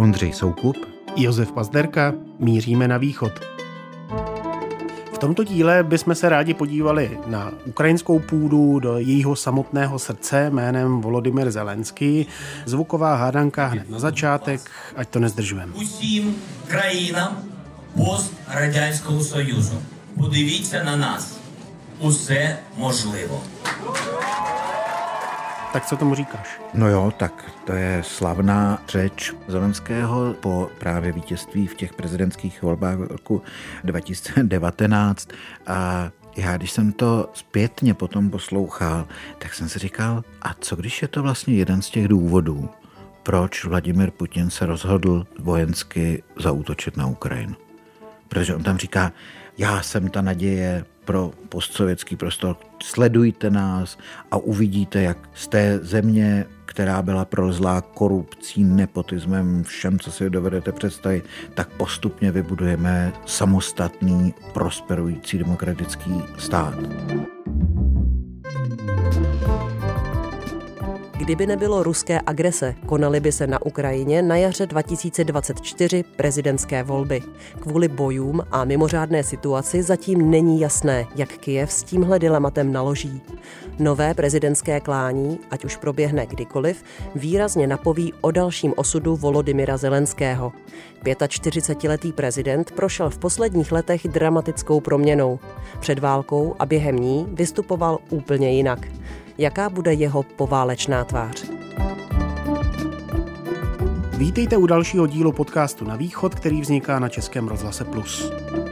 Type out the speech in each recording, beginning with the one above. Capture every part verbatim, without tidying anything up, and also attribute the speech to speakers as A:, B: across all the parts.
A: Ondřej Soukup,
B: Josef Pazderka, míříme na východ. V tomto díle bychom se rádi podívali na ukrajinskou půdu, do jejího samotného srdce jménem Volodymyr Zelenský. Zvuková hádanka hned na začátek, ať to nezdržujeme.
C: Усім країнам пострадянського Союзу. Подивіться на нас. Усе можливо.
B: Tak co tomu říkáš?
A: No jo, tak to je slavná řeč Zelenského po právě vítězství v těch prezidentských volbách v roku dva tisíce devatenáct. A já, když jsem to zpětně potom poslouchal, tak jsem si říkal, a co když je to vlastně jeden z těch důvodů, proč Vladimir Putin se rozhodl vojensky zaútočit na Ukrajinu? Protože on tam říká, já jsem ta naděje pro postsovětský prostor, sledujte nás a uvidíte, jak z té země, která byla prolezlá korupcí, nepotismem, všem, co si dovedete představit, tak postupně vybudujeme samostatný, prosperující demokratický stát.
D: Kdyby nebylo ruské agrese, konaly by se na Ukrajině na jaře dva tisíce dvacet čtyři prezidentské volby. Kvůli bojům a mimořádné situaci zatím není jasné, jak Kyjev s tímhle dilematem naloží. Nové prezidentské klání, ať už proběhne kdykoliv, výrazně napoví o dalším osudu Volodymyra Zelenského. čtyřicetiletý prezident prošel v posledních letech dramatickou proměnou. Před válkou a během ní vystupoval úplně jinak. Jaká bude jeho poválečná tvář?
B: Vítejte u dalšího dílu podcastu Na východ, který vzniká na Českém rozhlase Plus.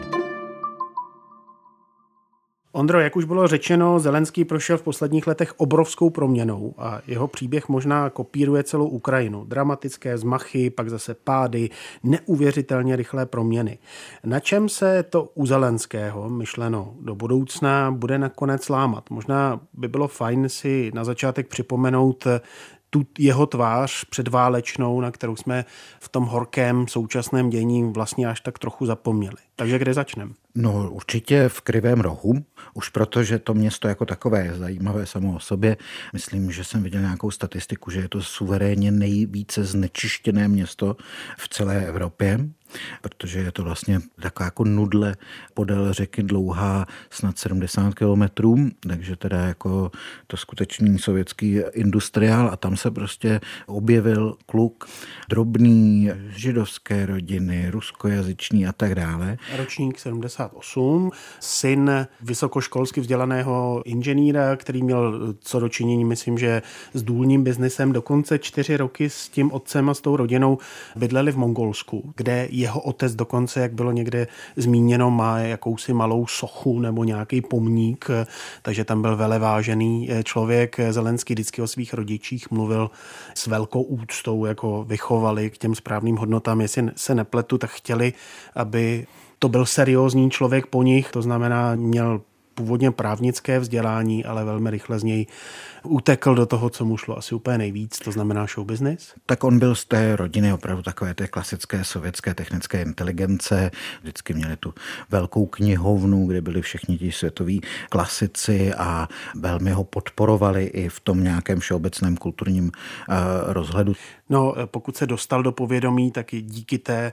B: Ondro, jak už bylo řečeno, Zelenský prošel v posledních letech obrovskou proměnou a jeho příběh možná kopíruje celou Ukrajinu. Dramatické vzmachy, pak zase pády, neuvěřitelně rychlé proměny. Na čem se to u Zelenského, myšleno do budoucna, bude nakonec lámat? Možná by bylo fajn si na začátek připomenout tu jeho tvář předválečnou, na kterou jsme v tom horkém současném dění vlastně až tak trochu zapomněli. Takže kde začneme?
A: No určitě v Krivém Rohu, už protože to město jako takové je zajímavé samo o sobě. Myslím, že jsem viděl nějakou statistiku, že je to suverénně nejvíce znečištěné město v celé Evropě, protože je to vlastně taková jako nudle podél řeky dlouhá snad sedmdesát kilometrů, takže teda jako to skutečný sovětský industriál a tam se prostě objevil kluk drobný, židovské rodiny, ruskojazyční a tak dále.
B: Ročník sedmdesát osm, syn vysokoškolsky vzdělaného inženýra, který měl co dočinění, myslím, že s důlním biznesem, dokonce čtyři roky s tím otcem a s tou rodinou bydleli v Mongolsku, kde jeho otec dokonce, jak bylo někde zmíněno, má jakousi malou sochu nebo nějaký pomník, takže tam byl velevážený člověk. Zelenský vždycky o svých rodičích mluvil s velkou úctou, jako vychovali k těm správným hodnotám. Jestli se nepletu, tak chtěli, aby to byl seriózní člověk po nich, to znamená, měl původně právnické vzdělání, ale velmi rychle z něj utekl do toho, co mu šlo asi úplně nejvíc, to znamená show business.
A: Tak on byl z té rodiny opravdu takové té klasické sovětské technické inteligence. Vždycky měli tu velkou knihovnu, kde byli všichni ti světoví klasici a velmi ho podporovali i v tom nějakém všeobecném kulturním uh, rozhledu.
B: No, pokud se dostal do povědomí, tak i díky té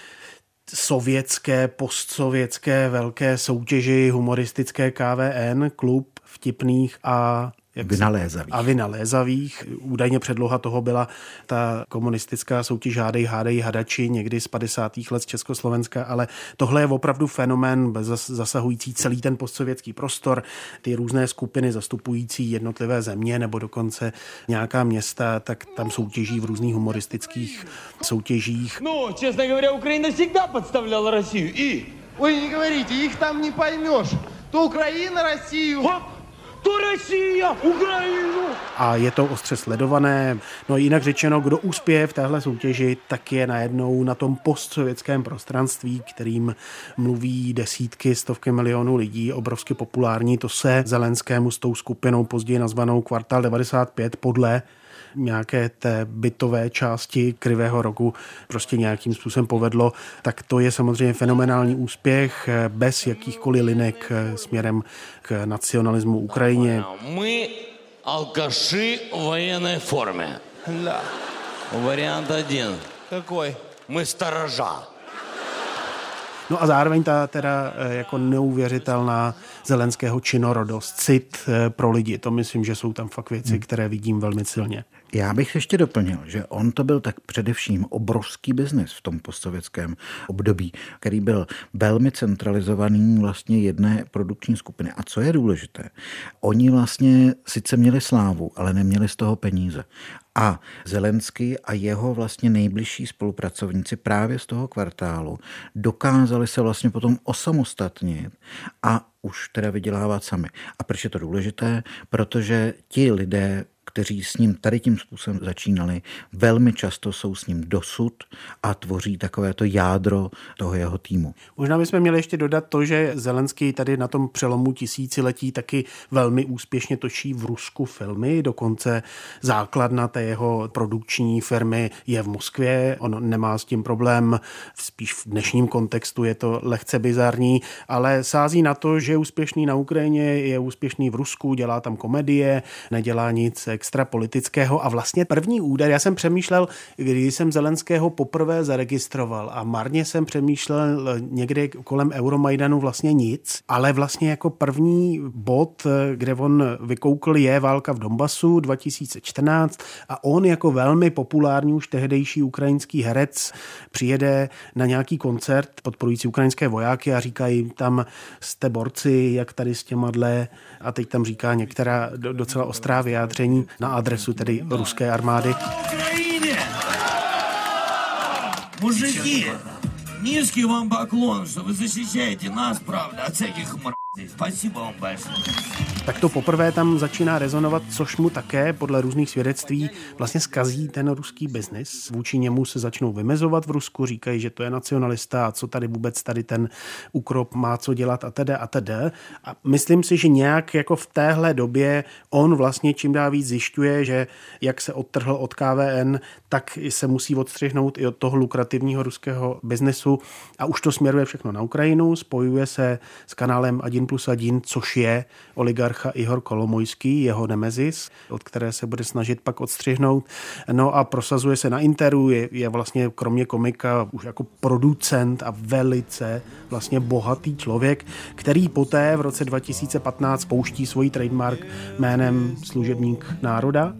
B: sovětské, postsovětské velké soutěži humoristické K V N, klub vtipných a
A: Vynalézavých.
B: A vynalézavých. Údajně předloha toho byla ta komunistická soutěž Hádej, hádej, hadači někdy z padesátých let z Československa, ale tohle je opravdu fenomén zasahující celý ten postsovětský prostor, ty různé skupiny zastupující jednotlivé země nebo dokonce nějaká města, tak tam soutěží v různých humoristických soutěžích.
E: No, čestně говоря, Ukrajina всегда подставляла Россию и...
F: Ой, не говорите, их там не поймешь. То Украина Россию...
E: To Россия, Ukrajinu!
B: A je to ostře sledované. No jinak řečeno, kdo uspěje v téhle soutěži, tak je najednou na tom postsovětském prostranství, kterým mluví desítky, stovky milionů lidí, obrovsky populární. To se Zelenskému s tou skupinou později nazvanou Kvartál devadesát pět podle nějaké té bytové části Krivého Rohu prostě nějakým způsobem povedlo, tak to je samozřejmě fenomenální úspěch bez jakýchkoliv linek směrem k nacionalismu Ukrajině.
C: My alkaši v vojenné formě.
F: Да.
C: Variant один.
F: Какой?
E: Мы сторожа.
B: No a zároveň ta teda jako neuvěřitelná Zelenského činorodost, cit pro lidi. To myslím, že jsou tam fakt věci, které vidím velmi silně.
A: Já bych ještě doplnil, že on to byl tak především obrovský biznis v tom postsovětském období, který byl velmi centralizovaný vlastně jedné produkční skupiny. A co je důležité, oni vlastně sice měli slávu, ale neměli z toho peníze. A Zelenský a jeho vlastně nejbližší spolupracovníci právě z toho kvartálu dokázali se vlastně potom osamostatnit a už teda vydělávat sami. A proč je to důležité? Protože ti lidé, kteří s ním tady tím způsobem začínali, velmi často jsou s ním dosud a tvoří takovéto jádro toho jeho týmu.
B: Možná bychom měli ještě dodat to, že Zelenský tady na tom přelomu tisíciletí taky velmi úspěšně točí v Rusku filmy, dokonce základna té jeho produkční firmy je v Moskvě, on nemá s tím problém, spíš v dnešním kontextu je to lehce bizarní, ale sází na to, že je úspěšný na Ukrajině, je úspěšný v Rusku, dělá tam komedie, nedělá nic extra politického a vlastně první úder, já jsem přemýšlel, když jsem Zelenského poprvé zaregistroval a marně jsem přemýšlel někde kolem Euromajdanu vlastně nic, ale vlastně jako první bod, kde on vykoukl, je válka v Donbasu dva tisíce čtrnáct a on jako velmi populární už tehdejší ukrajinský herec přijede na nějaký koncert podporující ukrajinské vojáky a říkají tam jste borci, jak tady s těma dle a teď tam říká některá docela ostrá vyjádření na adresu tedy ruské armády.
C: Мужики, низкий вам поклон, что вы защищаете нас, правда, от всяких мразей. Спасибо вам большое.
B: Tak to poprvé tam začíná rezonovat, což mu také podle různých svědectví vlastně zkazí ten ruský biznis. Vůči němu se začnou vymezovat v Rusku, říkají, že to je nacionalista a co tady vůbec tady ten Ukrop má co dělat a teda a teda. A myslím si, že nějak jako v téhle době on vlastně čím dál víc zjišťuje, že jak se odtrhl od K V N, tak se musí odstřihnout i od toho lukrativního ruského biznesu a už to směruje všechno na Ukrajinu, spojuje se s kanálem Adin plus Adin, což je oligarch Ihor Kolomojský, jeho nemezis, od které se bude snažit pak odstřihnout. No a prosazuje se na Interu, je, je vlastně kromě komika už jako producent a velice vlastně bohatý člověk, který poté v roce dva tisíce patnáct pouští svůj trademark jménem Služebník národa.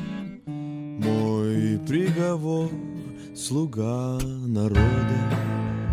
G: Můj приговор, sluga národa.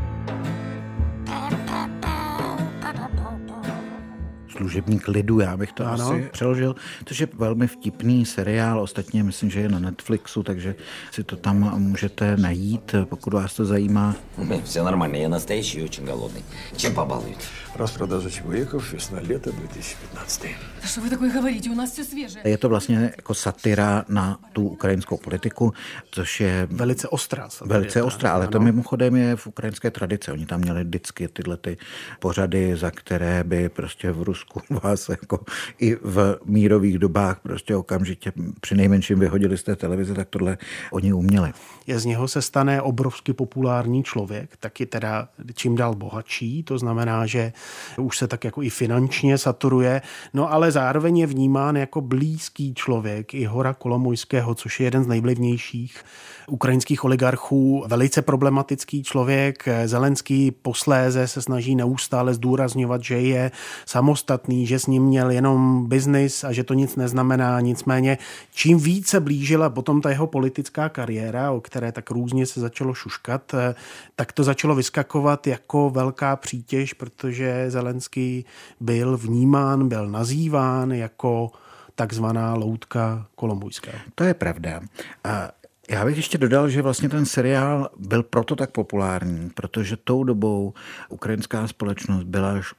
A: Služebník lidu, já bych to
B: ano.
A: asi přeložil, což je velmi vtipný seriál, ostatně myslím, že je na Netflixu, takže si to tam můžete najít, pokud vás to zajímá.
H: Все нормально, я настоящий и очень голодный. Чем побалуют?
I: Распродажа чебуреков, весна-лето две тысячи пятнадцатый.
J: Что вы такое говорите? У нас все свежее.
A: Je to vlastně jako satira na tu ukrajinskou politiku, což je
B: velice ostrá.
A: Velice ostrá, ale ano. To mimochodem je v ukrajinské tradici. Oni tam měli vždycky tyhle ty pořady, za které by prostě v Rusku vás jako i v mírových dobách prostě okamžitě při nejmenším vyhodili z té televize, tak tohle oni uměli.
B: Je z něho se stane obrovsky populární člověk, taky teda čím dál bohatší, to znamená, že už se tak jako i finančně saturuje, no ale zároveň je vnímán jako blízký člověk Ihora Kolomojského, což je jeden z nejvlivnějších ukrajinských oligarchů, velice problematický člověk. Zelenský posléze se snaží neustále zdůrazňovat, že je samostatný, že s ním měl jenom biznis a že to nic neznamená. Nicméně čím více blížila potom ta jeho politická kariéra, o které tak různě se začalo šuškat, tak to začalo vyskakovat jako velká přítěž, protože Zelenský byl vnímán, byl nazýván jako takzvaná loutka Kolomojského.
A: To je pravda. A já bych ještě dodal, že vlastně ten seriál byl proto tak populární, protože tou dobou ukrajinská společnost byla až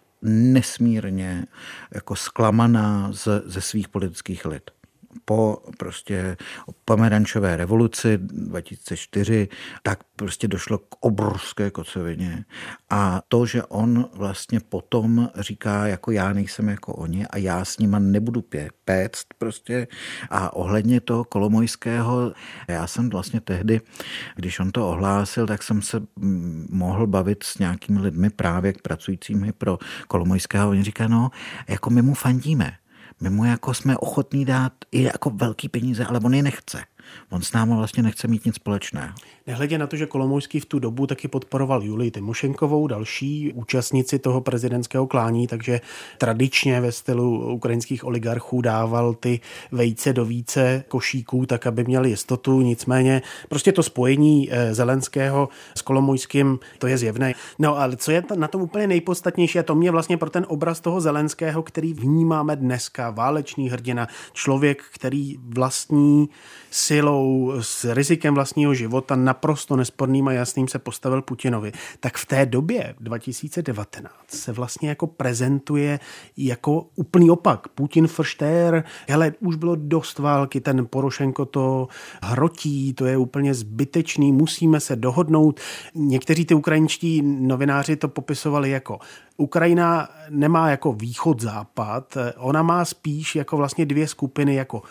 A: nesmírně jako zklamaná ze, ze svých politických elit. Po prostě pomerančové revoluci dva tisíce čtyři, tak prostě došlo k obrovské kocovině. A to, že on vlastně potom říká, jako já nejsem jako oni a já s nima nebudu pě- péct prostě. A ohledně toho Kolomojského, já jsem vlastně tehdy, když on to ohlásil, tak jsem se mohl bavit s nějakými lidmi právě pracujícími pro Kolomojského. Oni říkají, no, jako my mu fandíme. My mu jako jsme ochotní dát i jako velký peníze, ale on je nechce. On s náma vlastně nechce mít nic společného.
B: Nehledě na to, že Kolomojský v tu dobu taky podporoval Julii Tymošenkovou, další účastnici toho prezidentského klání, takže tradičně ve stylu ukrajinských oligarchů dával ty vejce do více košíků, tak aby měli jistotu. Nicméně prostě to spojení Zelenského s Kolomojským, to je zjevné. No ale co je na tom úplně nejpodstatnější, a to mě vlastně pro ten obraz toho Zelenského, který vnímáme dneska, válečný hrdina, člověk, který vlastní silou, s rizikem vlastního života, naprosto nesporným a jasným se postavil Putinovi, tak v té době dva tisíce devatenáct se vlastně jako prezentuje jako úplný opak. Putin frštér, hele, už bylo dost války, ten Porošenko to hrotí, to je úplně zbytečný, musíme se dohodnout. Někteří ty ukrajinští novináři to popisovali jako Ukrajina nemá jako východ-západ, ona má spíš jako vlastně dvě skupiny, jako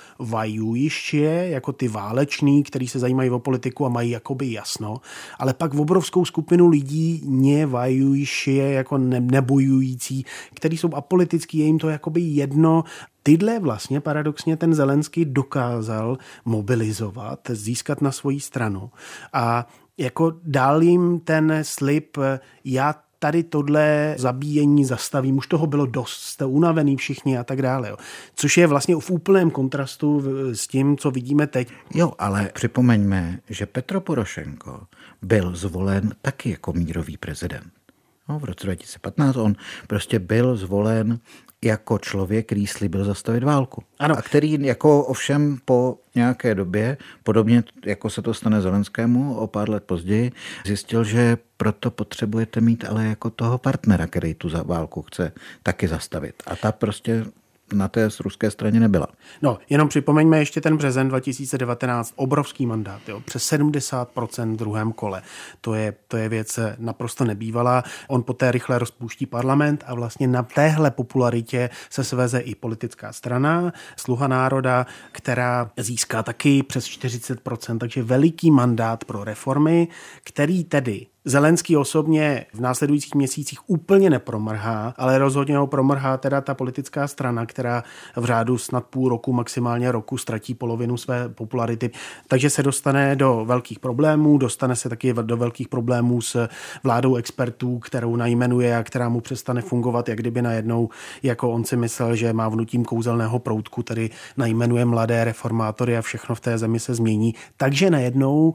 B: vajujiště, jako ty váleční, kteří se zajímají o politiku a mají jakoby jasno, ale pak v obrovskou skupinu lidí nevajujiště, jako ne, nebojující, kteří jsou apolitický, je jim to jakoby jedno. Tyhle vlastně paradoxně ten Zelenský dokázal mobilizovat, získat na svoji stranu a jako dal jim ten slib, já tady tohle zabíjení zastavím, už toho bylo dost, jste unavený všichni a tak dále. Jo. Což je vlastně v úplném kontrastu s tím, co vidíme teď.
A: Jo, ale připomeňme, že Petro Porošenko byl zvolen taky jako mírový prezident. No, v roce dva tisíce patnáct on prostě byl zvolen jako člověk, který slíbil zastavit válku. Ano. A který jako ovšem po nějaké době, podobně jako se to stane Zelenskému o pár let později, zjistil, že proto potřebujete mít ale jako toho partnera, který tu válku chce taky zastavit. A ta prostě na té ruské straně nebyla.
B: No, jenom připomeňme ještě ten březen dva tisíce devatenáct, obrovský mandát, jo, přes sedmdesát procent v druhém kole. To je, to je věc naprosto nebývalá. On poté rychle rozpouští parlament a vlastně na téhle popularitě se sveze i politická strana, Sluha národa, která získá taky přes čtyřicet procent, takže veliký mandát pro reformy, který tedy Zelenský osobně v následujících měsících úplně nepromrhá, ale rozhodně ho promrhá teda ta politická strana, která v řádu snad půl roku, maximálně roku ztratí polovinu své popularity. Takže se dostane do velkých problémů, dostane se taky do velkých problémů s vládou expertů, kterou najmenuje a která mu přestane fungovat, jak kdyby najednou, jako on si myslel, že má vnutím kouzelného proutku, tedy najmenuje mladé reformátory a všechno v té zemi se změní. Takže najednou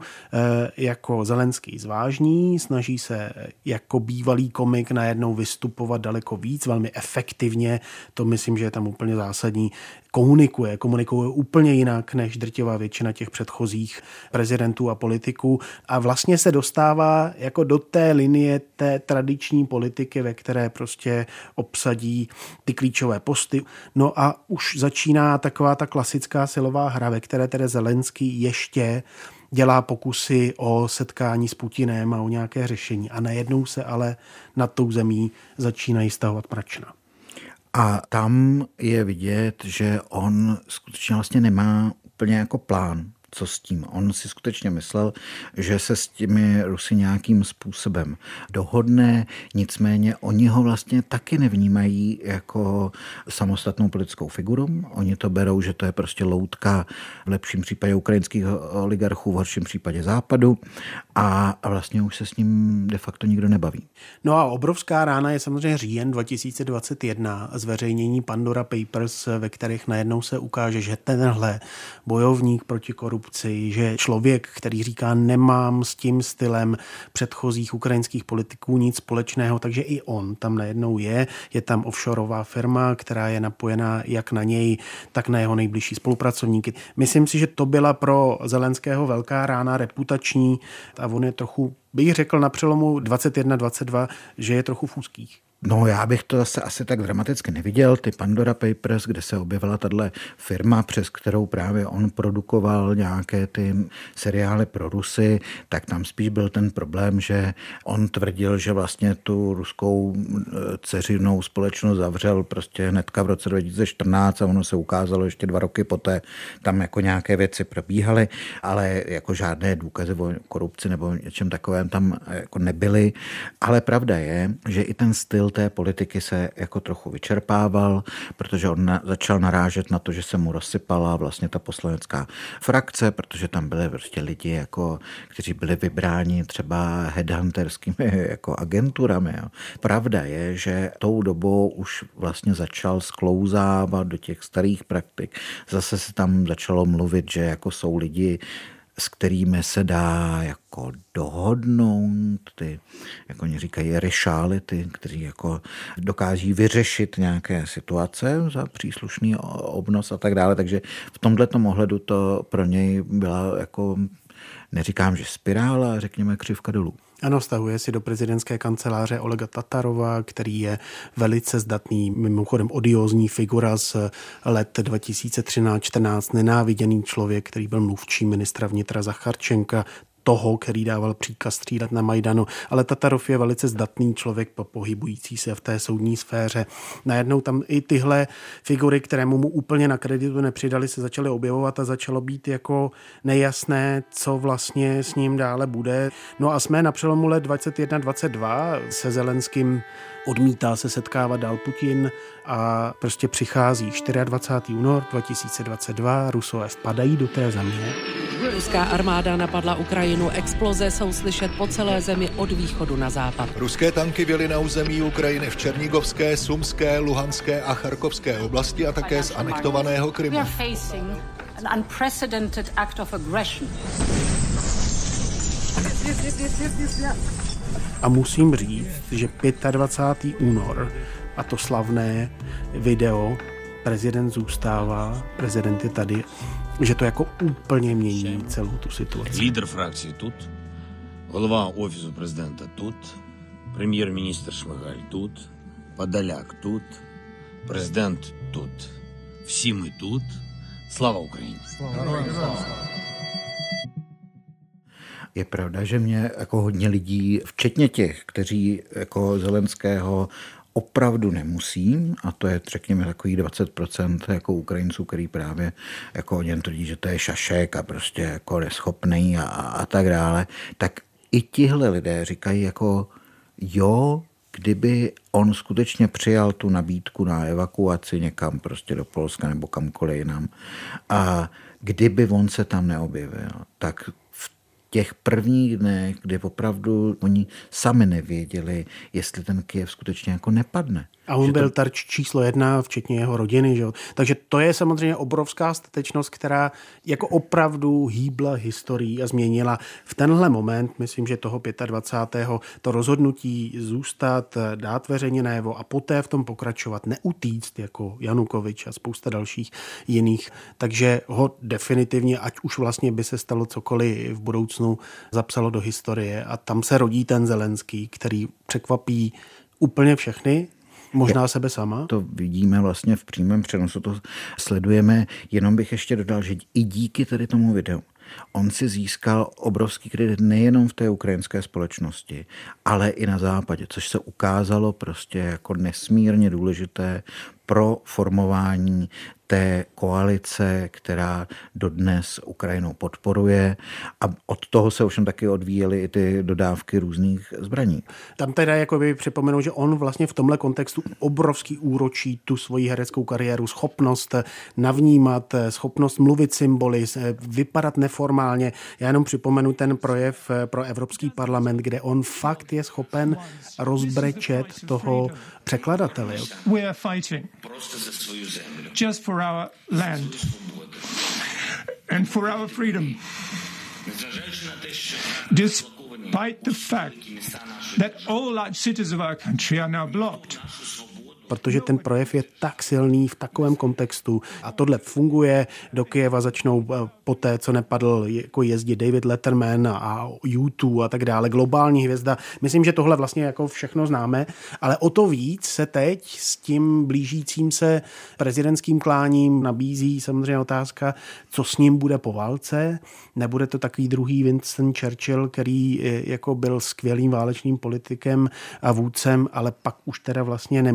B: jako Zelenský zvážní, snaží se jako bývalý komik najednou vystupovat daleko víc, velmi efektivně, to myslím, že je tam úplně zásadní. Komunikuje, komunikuje úplně jinak než drtivá většina těch předchozích prezidentů a politiků a vlastně se dostává jako do té linie té tradiční politiky, ve které prostě obsadí ty klíčové posty. No a už začíná taková ta klasická silová hra, ve které tedy Zelenský ještě dělá pokusy o setkání s Putinem a o nějaké řešení. A najednou se ale nad tou zemí začínají stahovat mračna.
A: A tam je vidět, že on skutečně vlastně nemá úplně jako plán, co s tím. On si skutečně myslel, že se s těmi Rusy nějakým způsobem dohodne, nicméně oni ho vlastně taky nevnímají jako samostatnou politickou figuru. Oni to berou, že to je prostě loutka v lepším případě ukrajinských oligarchů, v horším případě Západu a vlastně už se s ním de facto nikdo nebaví.
B: No a obrovská rána je samozřejmě říjen dva tisíce dvacet jedna, zveřejnění Pandora Papers, ve kterých najednou se ukáže, že tenhle bojovník proti korupci, že člověk, který říká, nemám s tím stylem předchozích ukrajinských politiků nic společného, takže i on tam najednou je. Je tam offshoreová firma, která je napojená jak na něj, tak na jeho nejbližší spolupracovníky. Myslím si, že to byla pro Zelenského velká rána reputační a on je trochu, bych řekl na přelomu dvacet jedna dvacet dva, že je trochu v úzkých.
A: No já bych to zase asi tak dramaticky neviděl, ty Pandora Papers, kde se objevila tahle firma, přes kterou právě on produkoval nějaké ty seriály pro Rusy, tak tam spíš byl ten problém, že on tvrdil, že vlastně tu ruskou dceřinou společnost zavřel prostě hnedka v roce dva tisíce čtrnáct a ono se ukázalo ještě dva roky poté, tam jako nějaké věci probíhaly, ale jako žádné důkazy o korupci nebo něčem takovém tam jako nebyly, ale pravda je, že i ten styl té politiky se jako trochu vyčerpával, protože on na, začal narážet na to, že se mu rozsypala vlastně ta poslanecká frakce, protože tam byly prostě lidi, jako, kteří byli vybráni třeba headhunterskými jako agenturami. Jo. Pravda je, že tou dobou už vlastně začal sklouzávat do těch starých praktik. Zase se tam začalo mluvit, že jako jsou lidi, s kterými se dá jako dohodnout, ty, jak oni říkají, rešálity, kteří jako dokáží vyřešit nějaké situace za příslušný obnos a tak dále. Takže v tomhletom ohledu to pro něj byla jako, neříkám, že spirála, řekněme křivka dolů.
B: Ano, stahuje si do prezidentské kanceláře Olega Tatarova, který je velice zdatný, mimochodem odiózní figura z let dva tisíce třináct čtrnáct, nenáviděný člověk, který byl mluvčí ministra vnitra Zacharčenka, toho, který dával příkaz střílet na Majdanu, ale Tatarov je velice zdatný člověk pohybující se v té soudní sféře. Najednou tam i tyhle figury, kterému mu úplně na kreditu nepřidali, se začaly objevovat a začalo být jako nejasné, co vlastně s ním dále bude. No a jsme na přelomu let dvacet jedna dvacet dva se Zelenským odmítá se setkávat dál Putin a prostě přichází dvacátého čtvrtého února dva tisíce dvacet dva, Rusové vpadají do té země.
K: Ruská armáda napadla Ukrajinu, exploze jsou slyšet po celé zemi od východu na západ.
L: Ruské tanky vjely na území Ukrajiny v Černigovské, Sumské, Luhanské a Charkovské oblasti a také z anektovaného Krymu.
B: A musím říct, že dvacátého pátého února a to slavné video prezident zůstává, prezident je tady, že to jako úplně mění celou tu situaci.
C: Lídr frakcie тут, голова офісу президента тут, прем'єр-міністр Шмигаль тут, Подоляк тут, президент тут. Всі ми тут. Слава Україні!
A: Je pravda, že mě jako hodně lidí, včetně těch, kteří jako Zelenského opravdu nemusí, a to je řekněme takový dvacet procent jako Ukrajinců, který právě jako o něm tvrdí, že to je šašek a prostě jako neschopný a, a tak dále, tak i tihle lidé říkají jako jo, kdyby on skutečně přijal tu nabídku na evakuaci někam prostě do Polska nebo kamkoliv jinam a kdyby on se tam neobjevil, tak těch prvních dnech, kdy opravdu oni sami nevěděli, jestli ten Kyjev skutečně jako nepadne.
B: A on
A: že
B: byl
A: to...
B: terč číslo jedna, včetně jeho rodiny. Že? Takže to je samozřejmě obrovská statečnost, která jako opravdu hýbla historií a změnila v tenhle moment, myslím, že toho dvacátého pátého to rozhodnutí zůstat, dát veřejně najevo a poté v tom pokračovat, neutíct jako Janukovič a spousta dalších jiných. Takže ho definitivně, ať už vlastně by se stalo cokoliv v budoucnu, zapsalo do historie a tam se rodí ten Zelenský, který překvapí úplně všechny, možná sebe sama.
A: To vidíme vlastně v přímém přenosu, to sledujeme. Jenom bych ještě dodal, že i díky tady tomu videu on si získal obrovský kredit nejenom v té ukrajinské společnosti, ale i na západě, což se ukázalo prostě jako nesmírně důležité pro formování té koalice, která dodnes Ukrajinu podporuje a od toho se ovšem taky odvíjely i ty dodávky různých zbraní.
B: Tam teda jakoby připomenu, že on vlastně v tomhle kontextu obrovský úročí tu svoji hereckou kariéru, schopnost navnímat, schopnost mluvit symboly, vypadat neformálně. Já jenom připomenu ten projev pro Evropský parlament, kde on fakt je schopen rozbrečet toho překladatele.
M: We are fighting just for our land and for our freedom. Despite the fact that all large cities of our country are now blocked.
B: Protože ten projev je tak silný v takovém kontextu a tohle funguje. Do Kyjeva začnou poté, co nepadl, jako jezdit David Letterman a U dva a tak dále, globální hvězda. Myslím, že tohle vlastně jako všechno známe, ale o to víc se teď s tím blížícím se prezidentským kláním nabízí samozřejmě otázka, co s ním bude po válce. Nebude to takový druhý Winston Churchill, který jako byl skvělým válečným politikem a vůdcem, ale pak už teda vlastně neměl úplně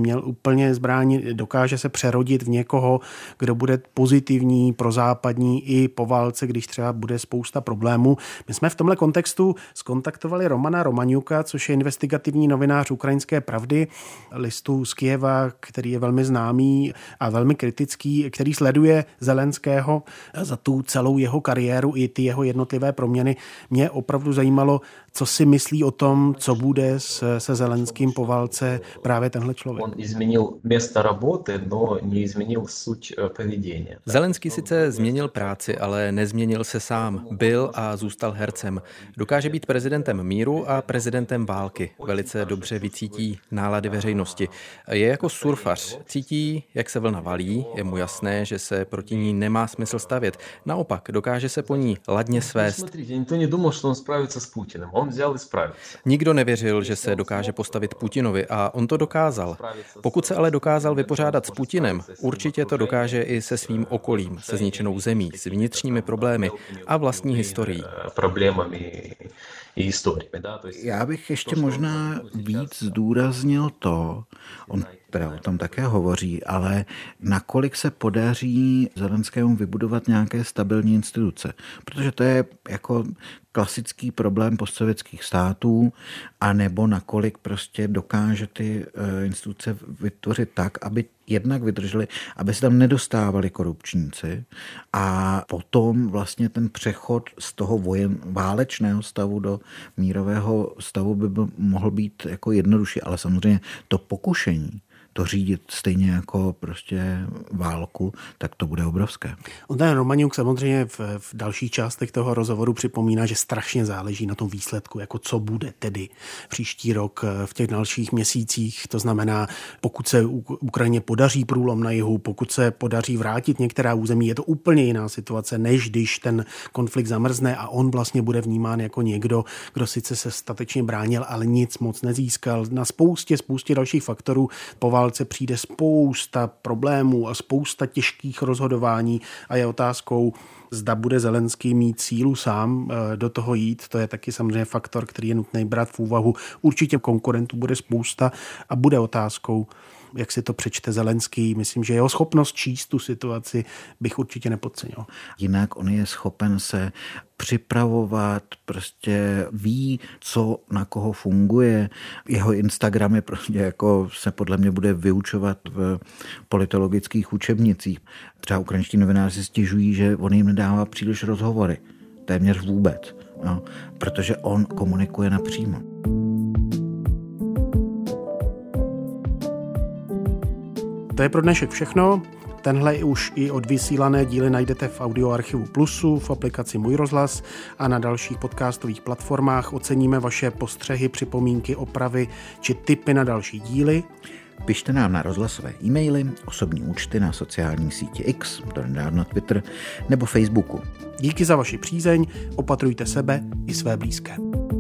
B: plně zbraň, dokáže se přerodit v někoho, kdo bude pozitivní, prozápadní i po válce, když třeba bude spousta problémů. My jsme v tomhle kontextu skontaktovali Romana Romaňuka, což je investigativní novinář Ukrajinské pravdy, listu z Kyjeva, který je velmi známý a velmi kritický, který sleduje Zelenského za tu celou jeho kariéru i ty jeho jednotlivé proměny. Mě opravdu zajímalo, co si myslí o tom, co bude se, se Zelenským po válce právě tenhle člověk.
N: On změnil místo roboty, no nezměnil suť povědění.
O: Zelenský sice změnil práci, ale nezměnil se sám. Byl a zůstal hercem. Dokáže být prezidentem míru a prezidentem války. Velice dobře vycítí nálady veřejnosti. Je jako surfař. Cítí, jak se vlna valí, je mu jasné, že se proti ní nemá smysl stavět. Naopak, dokáže se po ní ladně svést.
N: Nikdo nedomyslel, že on spraví s Putinem. On vzal i spravil.
O: Nikdo nevěřil, že se dokáže postavit Putinovi a on to dokázal. Pokud se ale dokázal vypořádat s Putinem, určitě to dokáže i se svým okolím, se zničenou zemí, s vnitřními problémy a vlastní historií.
N: Problémami i historií.
A: Já bych ještě možná víc zdůraznil to, on teda o tom také hovoří, ale nakolik se podaří Zelenskému vybudovat nějaké stabilní instituce. Protože to je jako klasický problém postsovětských států, anebo nakolik prostě dokáže ty instituce vytvořit tak, aby jednak vydrželi, aby se tam nedostávali korupčníci a potom vlastně ten přechod z toho vojen, válečného stavu do mírového stavu by byl, mohl být jako jednodušší, ale samozřejmě to pokušení to řídit stejně jako prostě válku, tak to bude obrovské.
B: On ten Romaňuk samozřejmě v, v dalších částech toho rozhovoru připomíná, že strašně záleží na tom výsledku, jako co bude tedy příští rok v těch dalších měsících. To znamená, pokud se Ukrajině podaří průlom na jihu, pokud se podaří vrátit některá území, je to úplně jiná situace, než když ten konflikt zamrzne a on vlastně bude vnímán jako někdo, kdo sice se statečně bránil, ale nic moc nezískal. Na spoustě, spoustě dalších faktorů po válce přijde spousta problémů a spousta těžkých rozhodování a je otázkou, zda bude Zelenský mít sílu sám do toho jít. To je taky samozřejmě faktor, který je nutný brát v úvahu. Určitě konkurentů bude spousta a bude otázkou, jak si to přečte Zelenský. Myslím, že jeho schopnost číst tu situaci bych určitě nepodcenil.
A: Jinak on je schopen se připravovat, prostě ví, co na koho funguje. Jeho Instagram je prostě jako se podle mě bude vyučovat v politologických učebnicích. Třeba ukrajinští novináři stěžují, že on jim nedává příliš rozhovory. Téměř vůbec. No, protože on komunikuje napřímo.
B: To je pro dnešek všechno. Tenhle už i odvysílané díly najdete v audioarchivu Plusu, v aplikaci Můj rozhlas a na dalších podcastových platformách. Oceníme vaše postřehy, připomínky, opravy či tipy na další díly.
A: Pište nám na rozhlasové e-maily, osobní účty na sociální síti X, donedávno Twitter nebo Facebooku.
B: Díky za vaši přízeň, opatrujte sebe i své blízké.